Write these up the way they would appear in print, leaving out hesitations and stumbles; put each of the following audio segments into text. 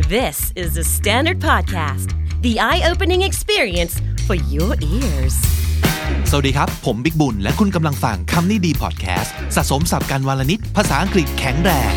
This is the Standard Podcast, the eye-opening experience for your ears. สวัสดีครับผมบิ๊กบุญและคุณกำลังฟังคำนี้ดีพอดแคสต์สะสมศัพท์กันวลนิดภาษาอังกฤษแข็งแรง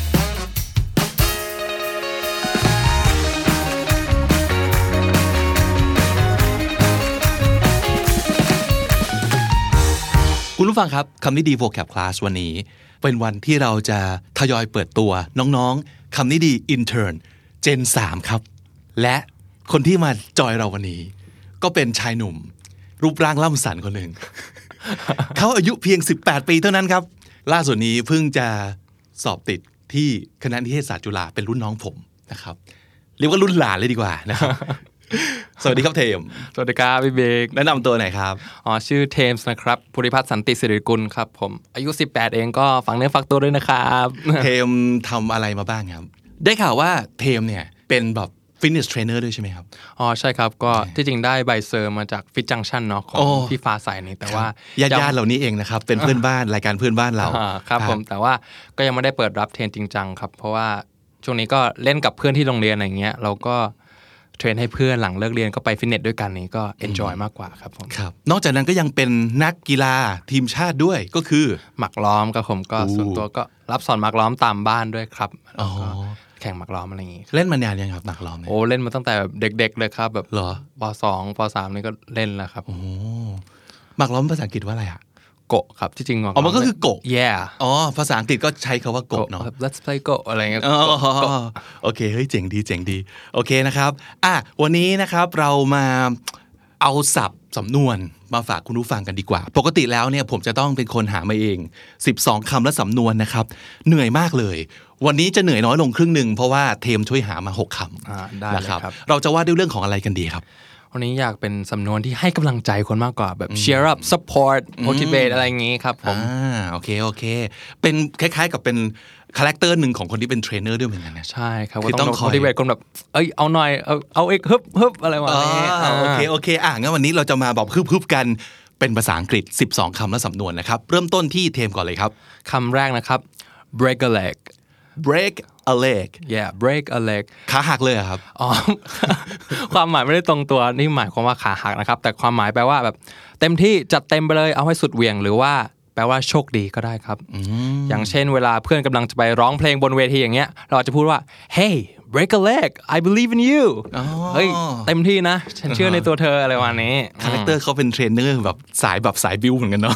คุณผู้ฟังครับคำนี้ดี vocab class วันนี้เป็นวันที่เราจะทยอยเปิดตัวน้องๆคำนี้ดี intern Gen 3 ครับและคนที่มาจอยเราวันนี้ก็เป็นชายหนุ่มรูปร่างล่ำสันคนหนึ่ง เขาอายุเพียง18ปีเท่านั้นครับล่าสุดนี้เพิ่งจะสอบติดที่คณะนิเทศศาสตร์จุฬาเป็นรุ่นน้องผมนะครับเรียกว่ารุ่นหลานเลยดีกว่านะครับ สวัสดีครับเทมสวัสดีครับพี่เบกแนะนำตัวหน่อยครับชื่อเทมส์นะครับภูริพัฒน์สันติสิริกุลครับผมอายุ18เองก็ฝากเนื้อฝากตัวด้วยนะครับเทมทำอะไรมาบ้างครับได้ข่าวว่าเทมเนี่ยเป็นแบบฟิตเนสเทรนเนอร์ด้วยใช่ไหมครับใช่ครับก็ที่จริงได้ใบเซอร์มาจากฟิตจังชั่นเนาะของพี่ฟ้าใสนี่แต่ว่าญาติๆเหล่านี้เองนะครับเป็นเพื่อนบ้านรายการเพื่อนบ้านเราครับผมแต่ว่าก็ยังไม่ได้เปิดรับเทรนจริงจังครับเพราะว่าช่วงนี้ก็เล่นกับเพื่อนที่โรงเรียนอะไรเงี้ยเราก็เทรนให้เพื่อนหลังเลิกเรียนก็ไปฟิตเนสด้วยกันนี่ก็เอนจอยมากกว่าครับผมครับนอกจากนั้นก็ยังเป็นนักกีฬาทีมชาติด้วยก็คือหมากล้อมครับผมก็ส่วนตัวก็รับสอนหมากล้อมตามบ้านด้วยครับแล้วก็แข่งหมากล้อมอะไรอย่างงี้เล่นมานานยังครับหมากล้อมเนี่ยเล่นมาตั้งแต่เด็กๆเลยครับแบบเหรอป.2 ป.3 นี่ก็เล่นแล้วครับหมากล้อมภาษาอังกฤษว่าอะไรอ่ะโกะครับที่จริงมันก็คือโกะ yeah ภาษาอังกฤษก็ใช้คำว่าโกะเนาะ let's play โกะอะไรเงี้ยโอเคเฮ้ยเจ๋งดีโอเคนะครับวันนี้นะครับเรามาเอาศัพท์สำนวนมาฝากคุณผู้ฟังกันดีกว่าปกติแล้วเนี่ยผมจะต้องเป็นคนหามาเอง12คำและสำนวนนะครับเหนื่อยมากเลยวันนี้จะเหนื่อยน้อยลงครึ่งนึงเพราะว่าเทมช่วยหามา6คำนะครับเราจะว่าด้วยเรื่องของอะไรกันดีครับวันนี้อยากเป็นสำนวนที่ให้กำลังใจคนมากกว่าแบบ cheer up support motivate อะไรอย่างงี้ครับผมโอเคเป็นคล้ายๆกับเป็นคาแรคเตอร์หนึ่งของคนที่เป็นเทรนเนอร์ด้วยเหมือนกันนะใช่ครับคือต้อง motivate คนแบบเอาหน่อยเอาอีกฮึบอะไรวะนี้โอเคงั้นวันนี้เราจะมาบอกฮึบกันเป็นภาษาอังกฤษ12คำและสำนวนนะครับเริ่มต้นที่เทมก่อนเลยครับคำแรกนะครับ break a leg break a leg break a leg ขาหักเลยครับความหมายไม่ได้ตรงตัวนี่หมายความว่าขาหักนะครับแต่ความหมายแปลว่าแบบเต็มที่จัดเต็มไปเลยเอาให้สุดเหวี่ยงหรือว่าแปลว่าโชคดีก็ได้ครับอย่างเช่นเวลาเพื่อนกำลังจะไปร้องเพลงบนเวทีอย่างเงี้ยเราจะพูดว่า hey break a leg I believe in you เฮ้ยเต็มที่นะฉันเชื่อในตัวเธออะไรวันนี้คาแรคเตอร์เขาเป็นเทรนเนอร์แบบสายบิวเหมือนกันเนาะ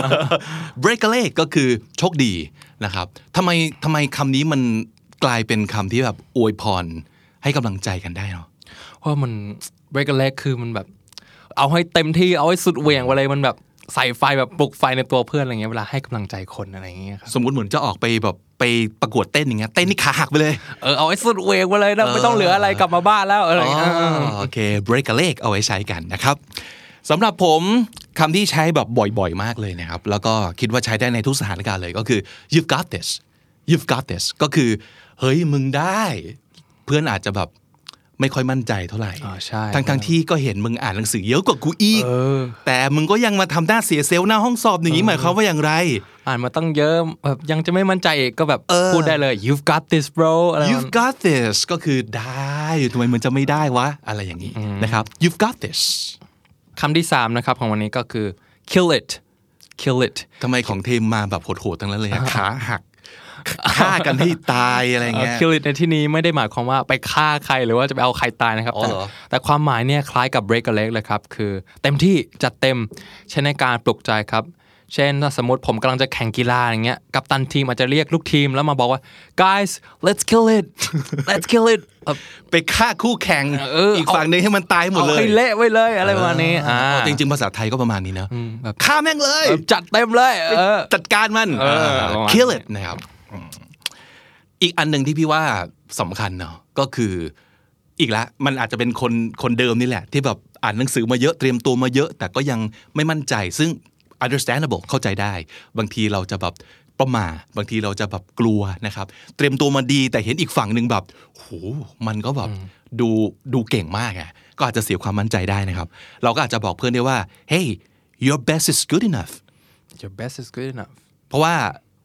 break a leg ก็คือโชคดีนะครับทำไมคำนี้มันกลายเป็นคำที่แบบอวยพรให้กำลังใจกันได้เนาะเพราะมัน break a leg คือมันแบบเอาให้เต็มที่เอาให้สุดเหวี่ยงไปเลยมันแบบใส่ไฟแบบปลุกไฟในตัวเพื่อนอะไรเงี้ยเวลาให้กำลังใจคนอะไรอย่างเงี้ยครับสมมุติเหมือนจะออกไปแบบไปประกวดเต้นอย่างเงี้ยเต้นนี่ขาหักไปเลยเอาให้สุดเหวี่ยงไปเลยนะไม่ต้องเหลืออะไรกลับมาบ้านแล้วอะไรเงี้ยโอเค break a leg เอาไว้ใช้กันนะครับสำหรับผมคำที่ใช้แบบบ่อยๆมากเลยนะครับแล้วก็คิดว่าใช้ได้ในทุกสถานการณ์เลยก็คือ you've got this ก็คือเฮ้ยมึงได้เพื่อนอาจจะแบบไม่ค่อยมั่นใจเท่าไหร่ทั้งที่ก็เห็นมึงอ่านหนังสือเยอะกว่ากูอีกแต่มึงก็ยังมาทำหน้าเสียเซลล์หน้าห้องสอบอย่างนี้หมายความว่าอย่างไรอ่านมาตั้งเยอะแบบยังจะไม่มั่นใจอีกก็แบบพูดได้เลย you've got this bro you've got this ก็คือได้ทำไมมึงจะไม่ได้วะอะไรอย่างนี้นะครับ you've got this คำที่3นะครับของวันนี้ก็คือ kill it ทำไมของเทมมาแบบโหดๆทั้งนั้นเลยขาหักฆ่ากันให้ตายอะไรเงี้ย kill it ในที่นี้ไม่ได้หมายความว่าไปฆ่าใครหรือว่าจะไปเอาใครตายนะครับแต่ความหมายเนี่ยคล้ายกับ break a leg เลยครับคือเต็มที่จัดเต็มใช้ในการปลุกใจครับเช่นถ้าสมมติผมกำลังจะแข่งกีฬาอย่างเงี้ยกัปตันทีมอาจจะเรียกลูกทีมแล้วมาบอกว่า guys let's kill it ไปฆ่าคู่แข่งอีกฝั่งนึงให้มันตายหมดเลยเอาให้เละไว้เลยอะไรประมาณนี้จริงๆภาษาไทยก็ประมาณนี้นะฆ่าแม่งเลยจัดเต็มเลยจัดการมันkill it นะครับอีกอันหนึ่งที่พี่ว่าสำคัญเนาะก็คืออีกแล้วมันอาจจะเป็นคนเดิมนี่แหละที่แบบอ่านหนังสือมาเยอะเตรียมตัวมาเยอะแต่ก็ยังไม่มั่นใจซึ่ง understandable เข้าใจได้บางทีเราจะแบบประมาทบางทีเราจะแบบกลัวนะครับเตรียมตัวมาดีแต่เห็นอีกฝั่งนึงแบบโหมันก็แบบดูเก่งมากอ่ะก็อาจจะเสียความมั่นใจได้นะครับเราก็อาจจะบอกเพื่อนได้ว่า hey your best is good enough เพราะว่า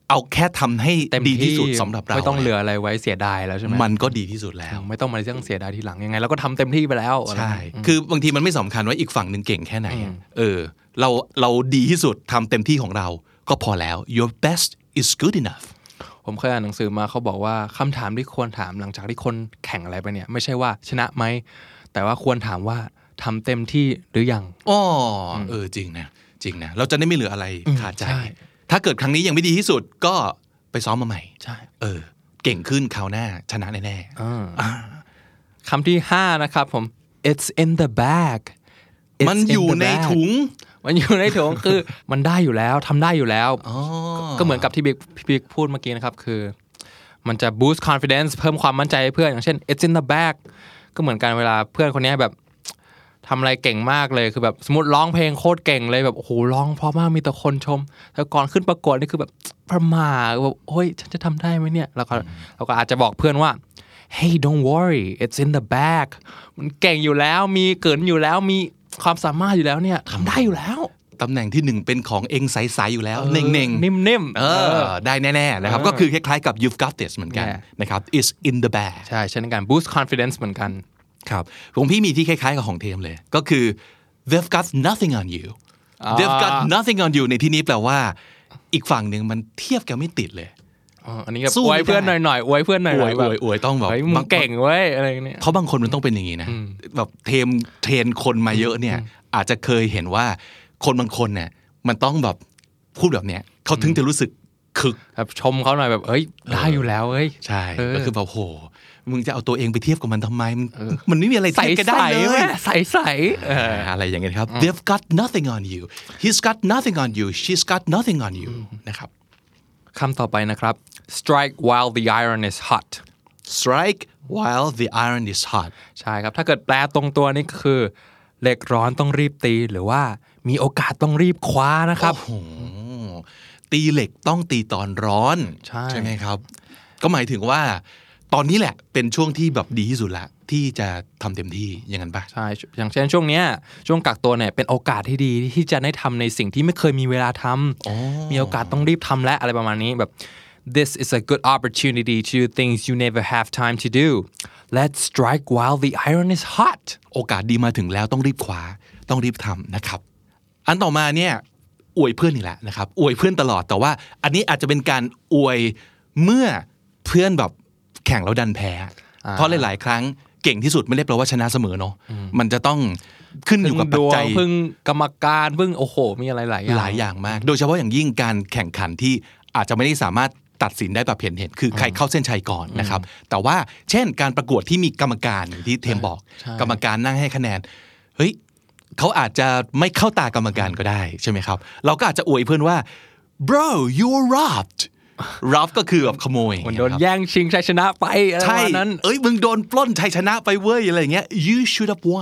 เอาแค่ทำให้เต็มดีที่สุดสำหรับเราไม่ต้องเหลืออะไรไว้เสียดายแล้วใช่ไหมมันก็ดีที่สุดแล้วไม่ต้องมาเรื่องเสียดายทีหลังยังไงเราก็ทำเต็มที่ไปแล้วใช่คือบางทีมันไม่สำคัญว่าอีกฝั่งนึงเก่งแค่ไหนเราดีที่สุดทำเต็มที่ของเราก็พอแล้ว your best is good enough ผมเคยอ่านหนังสือมาเขาบอกว่าคำถามที่ควรถามหลังจากที่คนแข่งอะไรไปเนี่ยไม่ใช่ว่าชนะไหมแต่ว่าควรถามว่าทำเต็มที่หรือยังจริงนะเราจะได้ไม่เหลืออะไรขาดใจถ้าเกิดครั้งนี้ยังไม่ดีที่สุดก็ไปซ้อมมาใหม่ใช่เก่งขึ้นคราวหน้าชนะแน่ๆคำที่5นะครับผม it's in the bag มันอยู่ในถุงคือมันได้อยู่แล้วทำได้อยู่แล้วก็เหมือนกับที่บิ๊กพูดเมื่อกี้นะครับคือมันจะ boost confidence เพิ่มความมั่นใจให้เพื่อนอย่างเช่น it's in the bag ก็เหมือนกันเวลาเพื่อนคนนี้แบบทำอะไรเก่งมากเลยคือแบบสมมติร้องเพลงโคตรเก่งเลยแบบโอ้โหร้องเพราะมากมีแต่คนชมแล้วก่อนขึ้นประกวดนี่คือแบบประหม่าแบบโอ้ยฉันจะทำได้ไหมเนี่ยเราก็อาจจะบอกเพื่อนว่า hey don't worry it's in the bag มันเก่งอยู่แล้วมีเกินอยู่แล้วมีความสามารถอยู่แล้วเนี่ยทำได้อยู่แล้วตำแหน่งที่1เป็นของเองใสๆอยู่แล้วเน่งๆนิ่มๆได้แน่ๆนะครับก็คือคล้ายๆกับ you've got this เหมือนกันนะครับ it's in the bag ใช่เช่นกัน boost confidence เหมือนกันครับของพี่มีที่คล้ายๆกับของเทมเลยก็คือ they've got nothing on you they've got nothing on you ในที่นี้แปลว่าอีกฝั่งหนึ่งมันเทียบกันไม่ติดเลยอันนี้ก็อวยเพื่อนหน่อยๆอวยเพื่อนหน่อยๆอวยต้องแบบมึงเก่งเว้ยอะไรเนี่ยเพราะบางคนมันต้องเป็นอย่างนี้นะแบบเทรนคนมาเยอะเนี่ยอาจจะเคยเห็นว่าคนบางคนเนี่ยมันต้องแบบพูดแบบเนี้ยเขาถึงจะรู้สึกคึกแบบชมเขาหน่อยแบบเอ้ยได้อยู่แล้วเอ้ยใช่ก็คือแบบโหมึงจะเอาตัวเองไปเทียบกับมันทำไมมันไม่มีอะไรเทียบกันได้เลยใสอะไรอย่างเงี้ยครับ they've got nothing on you he's got nothing on you she's got nothing on you นะครับคำต่อไปนะครับ strike while the iron is hot strike while the iron is hot ใช่ครับถ้าเกิดแปลตรงตัวนี่คือเหล็กร้อนต้องรีบตีหรือว่ามีโอกาสต้องรีบคว้านะครับตีเหล็กต้องตีตอนร้อนใช่ไหมครับก็หมายถึงว่าตอนนี้แหละเป็นช่วงที่แบบดีที่สุดละที่จะทำเต็มที่อย่างนั้นปะใช่อย่างเช่นช่วงนี้ช่วงกักตัวเนี่ยเป็นโอกาสที่ดีที่จะได้ทำในสิ่งที่ไม่เคยมีเวลาทำมีโอกาสต้องรีบทำและอะไรประมาณนี้แบบ this is a good opportunity to do things you never have time to do let's strike while the iron is hot โอกาสดีมาถึงแล้วต้องรีบคว้าต้องรีบทำนะครับอันต่อมาเนี่ยอวยเพื่อนนี่แหละนะครับอวยเพื่อนตลอดแต่ว่าอันนี้อาจจะเป็นการอวยเมื่อเพื่อนแบบแข่งแล้วดันแพ้เพราะหลายๆครั้งเก่งที่สุดไม่ได้แปลว่าชนะเสมอเนาะมันจะต้องขึ้นอยู่กับปัจจัยพึ่งกรรมการพึ่งโอ้โหมีอะไรหลายอย่างมากโดยเฉพาะอย่างยิ่งการแข่งขันที่อาจจะไม่ได้สามารถตัดสินได้แบบเห็นคือใครเข้าเส้นชัยก่อนนะครับแต่ว่าเช่นการประกวดที่มีกรรมการอย่างที่เทมบอกกรรมการนั่งให้คะแนนเฮ้ยเขาอาจจะไม่เข้าตากรรมการก็ได้ใช่ไหมครับเราก็อาจจะอวยเพื่อนว่า bro you were robbed rob ก็คือแบบขโมยมันโดนแย่งชิงชัยชนะไปอะไรประมาณนั้นมึงโดนปล้นชัยชนะไปเว้ยอะไรอย่างเงี้ย you should have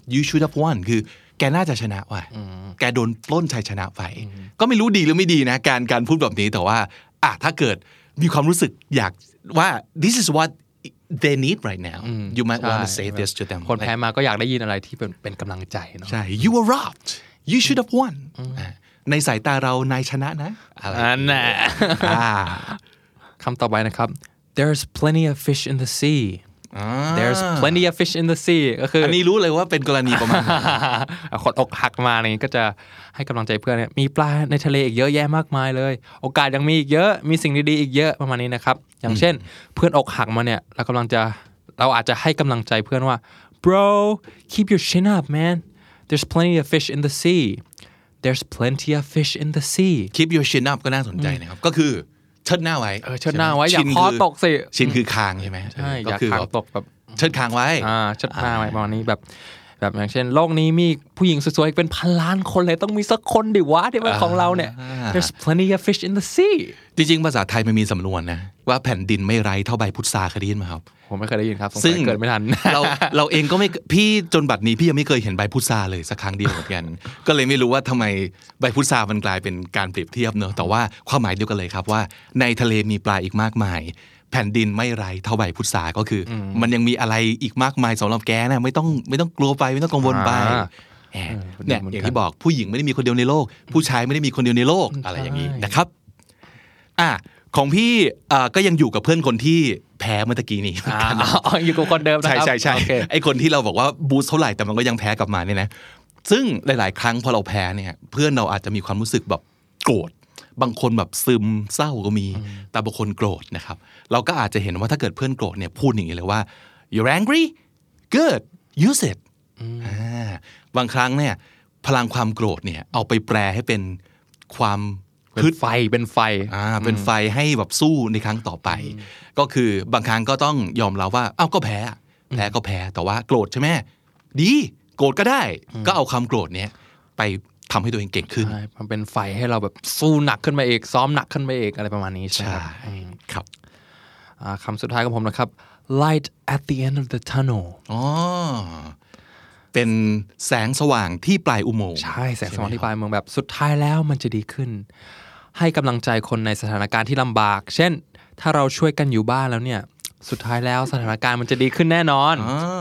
won คือแกน่าจะชนะว่ะแกโดนปล้นชัยชนะไปก็ไม่รู้ดีหรือไม่ดีนะการพูดแบบนี้แต่ว่าถ้าเกิดมีความรู้สึกอยากว่า this is what they need right now you might want to say this to them คนแพ้มาก็อยากได้ยินอะไรที่เป็นกำลังใจเนาะใช่ you were robbed you should have wonในสายตาเรานายชนะนะอะไรน่ะคำต่อไปนะครับ there's plenty of fish in the sea there's plenty of fish in the sea ก็คืออันนี้รู้เลยว่าเป็นกรณีประมาณคนอกหักมานี่ก็จะให้กำลังใจเพื่อนเนี่ยมีปลาในทะเลอีกเยอะแยะมากมายเลยโอกาสยังมีอีกเยอะมีสิ่งดีๆอีกเยอะประมาณนี้นะครับอย่างเช่นเพื่อนอกหักมาเนี่ยเราอาจจะให้กำลังใจเพื่อนว่า bro keep your chin up man there's plenty of fish in the sea there's plenty of fish in the sea keep your chin up ก็น่าสนใจนะครับก็คือเชิดหน้าไว้เชิดหน้าไว้อย่าคอตกสิชินคือคางใช่ไหมใช่อย่าคางตกแบบเชิดคางไว้เชิดหน้าไว้ประมาณนี้แบบอย่างเช่นโลกนี้มีผู้หญิงสวยๆเป็นพันล้านคนเลยต้องมีสักคนดิวะที่เป็นของเราเนี่ย there's plenty of fish in the sea จริงๆภาษาไทยมันมีสำนวนนะว่าแผ่นดินไม่ไร้เท่าใบพุทราเคยได้ยินไหมครับผมไม่เคยได้ยินครับซึ่งเกิดไม่ทันเราเองก็ไม่พี่จนบัดนี้พี่ยังไม่เคยเห็นใบพุทราเลยสักครั้งเดียวเหมือนกันก็เลยไม่รู้ว่าทำไมใบพุทรามันกลายเป็นการเปรียบเทียบเนอะแต่ว่าความหมายเดียวกันเลยครับว่าในทะเลมีปลาอีกมากมายแผ่นดินไม่ไร้เท่าใบพุทราก็คือมันยังมีอะไรอีกมากมายสำหรับแกนะไม่ต้องกลัวไปไม่ต้องกังวลไปเนี่ยอย่างที่บอกผู้หญิงไม่ได้มีคนเดียวในโลกผู้ชายไม่ได้มีคนเดียวในโลกอะไรอย่างนี้นะครับของพี่ก็ยังอยู่กับเพื่อนคนที่แพ้เมื่อกี้นี้อยู่กับคนเดิมนะครับใช่ไอ้คนที่เราบอกว่าบูสเท่าไหร่แต่มันก็ยังแพ้กลับมาเนี่ยนะซึ่งหลายๆครั้งพอเราแพ้เนี่ยเพื่อนเราอาจจะมีความรู้สึกแบบโกรธบางคนแบบซึมเศร้าก็มีแต่บางคนโกรธนะครับเราก็อาจจะเห็นว่าถ้าเกิดเพื่อนโกรธเนี่ยพูดอย่างนี้เลยว่า you're angry good use it บางครั้งเนี่ยพลังความโกรธเนี่ยเอาไปแปลให้เป็นความเป็นไฟเป็นไฟให้แบบสู้ในครั้งต่อไปก็คือบางครั้งก็ต้องยอมรับว่าอ้าวก็แพ้ก็แพ้แต่ว่าโกรธใช่ไหมดีโกรธก็ได้ก็เอาความโกรธเนี้ยไปทำให้ตัวเองเก่งขึ้นมันเป็นไฟให้เราแบบสู้หนักขึ้นมาเองซ้อมหนักขึ้นมาเองอะไรประมาณนี้ใช่ครับคำสุดท้ายของผมนะครับ light at the end of the tunnel เป็นแสงสว่างที่ปลายอุโมงค์ใช่แสงสว่างที่ปลายอุโมงค์แบบสุดท้ายแล้วมันจะดีขึ้นให้กำลังใจคนในสถานการณ์ที่ลำบากเช่นถ้าเราช่วยกันอยู่บ้านแล้วเนี่ยสุดท้ายแล้วสถานการณ์มันจะดีขึ้นแน่นอน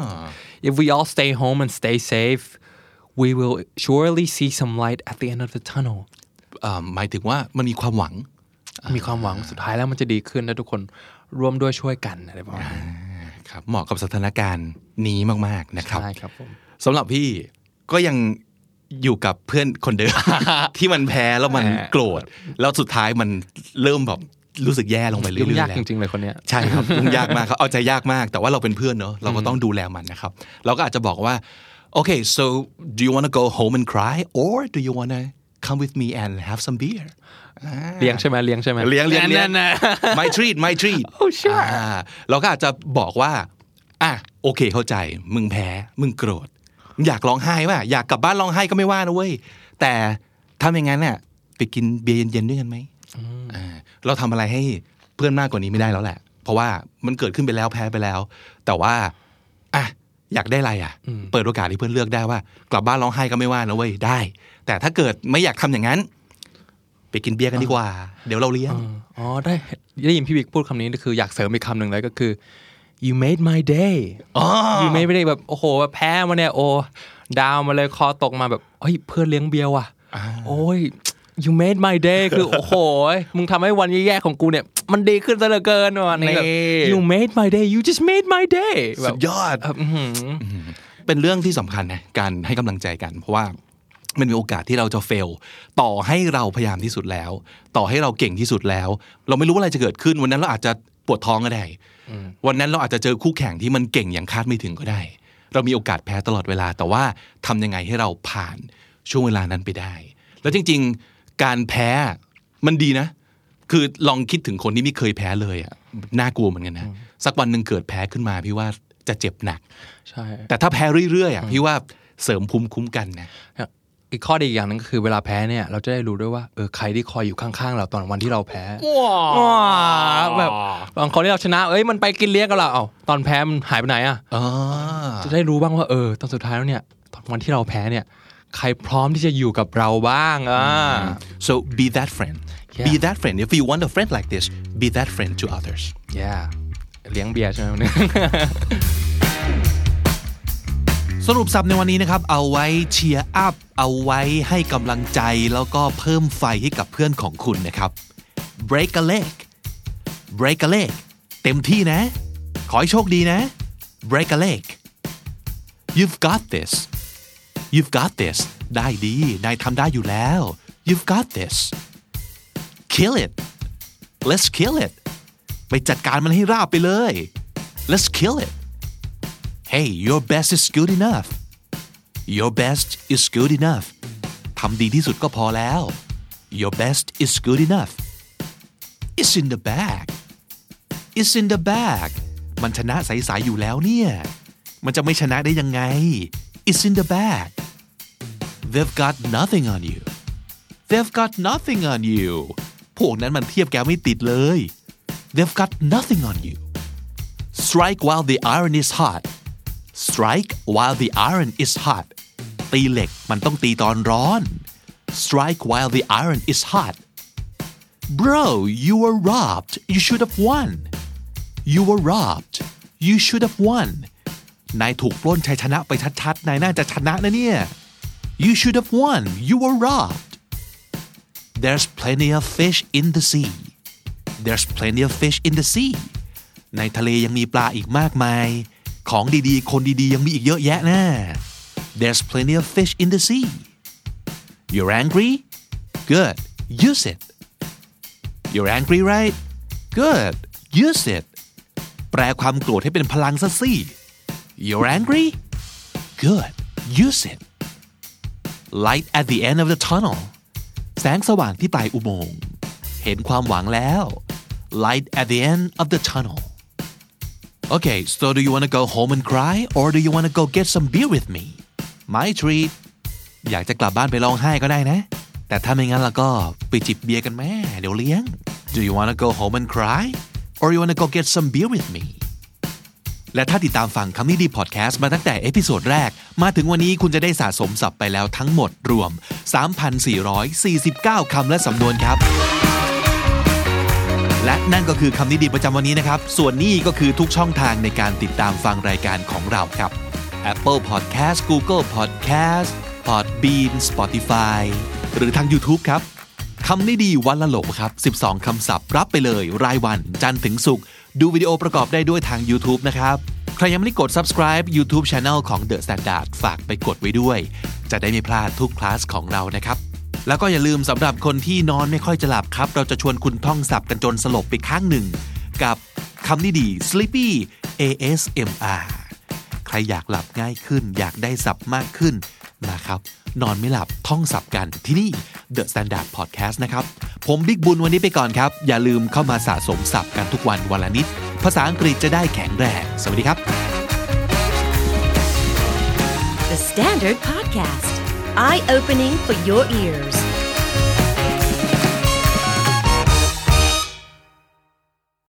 If we all stay home and stay safe we will surely see some light at the end of the tunnel หมายถึงว่ามันมีความหวังสุดท้ายแล้วมันจะดีขึ้นและทุกคนร่วมด้วยช่วยกันอะไรประมาณนี้ครับเหมาะกับสถานการณ์นี้มากๆนะครับใช่ครับผมสำหรับพี่ก็ยังอยู่กับเพื่อนคนเดิม ที่มันแพ้แล้วมันโกรธแล้วสุดท้ายมันเริ่มแบบรู้สึกแย่ลงไปเรื่อยๆยุ่งยากจริงๆเลยคนเนี้ยใช่ครับยุ่งยากมากเขาเอาใจยากมากแต่ว่าเราเป็นเพื่อนเนอะเราก็ต้องดูแลมันนะครับเราก็อาจจะบอกว่า okay so do you want to go home and cry or do you want to come with me and have some beer เลี้ยงใช่ไหมเลี้ยง my treat oh sure เราก็อาจจะบอกว่าโอเคเข้าใจมึงแพ้มึงโกรธอยากร้องไห้ป่ะอยากกลับบ้านร้องไห้ก็ไม่ว่านะเว้ยแต่ถ้าอย่างนั้นเนี่ยไปกินเบียร์เย็นๆด้วยกันไหมเราทำอะไรให้เพื่อนมากกว่านี้ไม่ได้แล้วแหละเพราะว่ามันเกิดขึ้นไปแล้วแพ้ไปแล้วแต่ว่าอยากได้อะไรเปิดโอกาสให้เพื่อนเลือกได้ว่ากลับบ้านร้องไห้ก็ไม่ว่านะเว้ยได้แต่ถ้าเกิดไม่อยากทำอย่างนั้นไปกินเบียร์กันดีกว่าเดี๋ยวเราเลี้ยงได้ยินพี่บิ๊กพูดคำนี้คืออยากเสริมอีกคำหนึ่งเลยก็คือ you made my day you made my day แบบโอ้โหแพ้มาเนี่ยโอ้ดาวมาเลยคอตกมาแบบเฮ้ยเพื่อนเลี้ยงเบียร์ว่ะโอ้ยYou made my day คือโอ้โหมึงทำให้วันแย่ๆของกูเนี่ยมันดีขึ้นซะเหลือเกินว่ะนี่แบบ You made my day You just made my day สุดยอดเป็นเรื่องที่สำคัญนะการให้กำลังใจกันเพราะว่ามันมีโอกาสที่เราจะเฟลต่อให้เราพยายามที่สุดแล้วต่อให้เราเก่งที่สุดแล้วเราไม่รู้ว่าอะไรจะเกิดขึ้นวันนั้นเราอาจจะปวดท้องก็ได้วันนั้นเราอาจจะเจอคู่แข่งที่มันเก่งอย่างคาดไม่ถึงก็ได้เรามีโอกาสแพ้ตลอดเวลาแต่ว่าทำยังไงให้เราผ่านช่วงเวลานั้นไปได้แล้วจริงๆการแพ้มันดีนะคือลองคิดถึงคนที่ไม่เคยแพ้เลยอ่ะน่ากลัวเหมือนกันนะสักวันหนึ่งเกิดแพ้ขึ้นมาพี่ว่าจะเจ็บหนักใช่แต่ถ้าแพ้เรื่อยๆอ่ะพี่ว่าเสริมภูมิคุ้มกันนะอีกข้อดีอย่างนึงก็คือเวลาแพ้เนี่ยเราจะได้รู้ด้วยว่าใครที่คอยอยู่ข้างๆเราตอนวันที่เราแพ้แบบบางคนที่เราชนะมันไปกินเลี้ยงกับเราตอนแพ้มันหายไปไหนจะได้รู้บ้างว่าตอนสุดท้ายแล้วเนี่ยตอนวันที่เราแพ้เนี่ยใครพร้อมที่จะอยู่กับเราบ้าง so be that friend be that friend if you want a friend like this be that friend to others yeah เลี้ยงเบียร์ใช่ไหมสรุปสับในวันนี้นะครับเอาไว้เชียร์อัพเอาไว้ให้กำลังใจแล้วก็เพิ่มไฟให้กับเพื่อนของคุณนะครับ break a leg เต็มที่นะขอให้โชคดีนะ break a leg you've got this ได้ดีนายทำได้อยู่แล้ว you've got this kill it let's kill it ไปจัดการมันให้ราบไปเลย let's kill it Hey, your best is good enough. Your best is good enough. ทำดีที่สุดก็พอแล้ว Your best is good enough. It's in the bag. It's in the bag. มันชนะใสๆอยู่แล้วเนี่ยมันจะไม่ชนะได้ยังไง It's in the bag. They've got nothing on you. They've got nothing on you. พวกนั้นมันเทียบแกไม่ติดเลย They've got nothing on you. Strike while the iron is hot.Strike while the iron is hot ตีเหล็กมันต้องตีตอนร้อน Strike while the iron is hot Bro you were robbed you should have won You were robbed you should have won นายถูกปล้นชัยชนะไปชัดๆนายน่าจะชนะนะเนี่ย You should have won you were robbed There's plenty of fish in the sea There's plenty of fish in the sea ในทะเลยังมีปลาอีกมากมายของดีๆคนดีๆยังมีอีกเยอะแยะนะ There's plenty of fish in the sea You're angry? Good. Use it. You're angry, right? Good. Use it. แปลความโกรธให้เป็นพลังซะสิ You're angry? Good. Use it. Light at the end of the tunnel. แสงสว่างที่ปลายอุโมงค์เห็นความหวังแล้ว Light at the end of the tunnel. Okay, so do you want to go home and cry or do you want to go get some beer with me? My treat. อยากจะกลับบ้านไปร้องไห้ก็ได้นะแต่ถ้าไม่งั้นแล้วก็ไปจิบเบียร์กันแม่เดี๋ยวเลี้ยง Do you want to go home and cry or you want to go get some beer with me และถ้าติดตามฟังคำนี้ดีพอดแคสต์มาตั้งแต่เอพิโซดแรกมาถึงวันนี้คุณจะได้สะสมศัพท์ไปแล้วทั้งหมดรวม 3,449 คำและสำนวนครับและนั่นก็คือคำนี้ดีประจำวันนี้นะครับส่วนนี้ก็คือทุกช่องทางในการติดตามฟังรายการของเราครับ Apple Podcast Google Podcast Podbean Spotify หรือทาง YouTube ครับคำนี้ดีวันละโหลครับ12คำศัพท์รับไปเลยรายวันจันทร์ถึงศุกร์ดูวิดีโอประกอบได้ด้วยทาง YouTube นะครับใครยังไม่ได้กด Subscribe YouTube Channel ของ The Standard ฝากไปกดไว้ด้วยจะได้ไม่พลาดทุกคลาสของเรานะครับแล้วก็อย่าลืมสำหรับคนที่นอนไม่ค่อยจะหลับครับเราจะชวนคุณท่องศัพท์กันจนสลบไปข้างหนึ่งกับคำนี้ดี Sleepy ASMR ใครอยากหลับง่ายขึ้นอยากได้ศัพท์มากขึ้นนะครับนอนไม่หลับท่องศัพท์กันที่นี่ The Standard Podcast นะครับผมบิ๊กบุญวันนี้ไปก่อนครับอย่าลืมเข้ามาสะสมศัพท์กันทุกวันวันละนิดภาษาอังกฤษจะได้แข็งแรงสวัสดีครับ The Standard Podcast Eye Opening for Your Ears